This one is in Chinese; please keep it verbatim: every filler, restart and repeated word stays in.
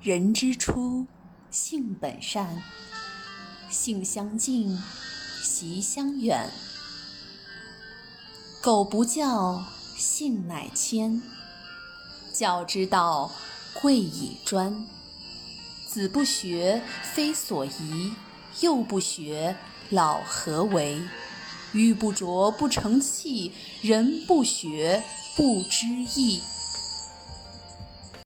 人之初，性本善，性相近，习相远。苟不教，性乃迁。教之道，贵以专。子不学，非所宜；幼不学，老何为？玉不琢不成器，人不学不知义。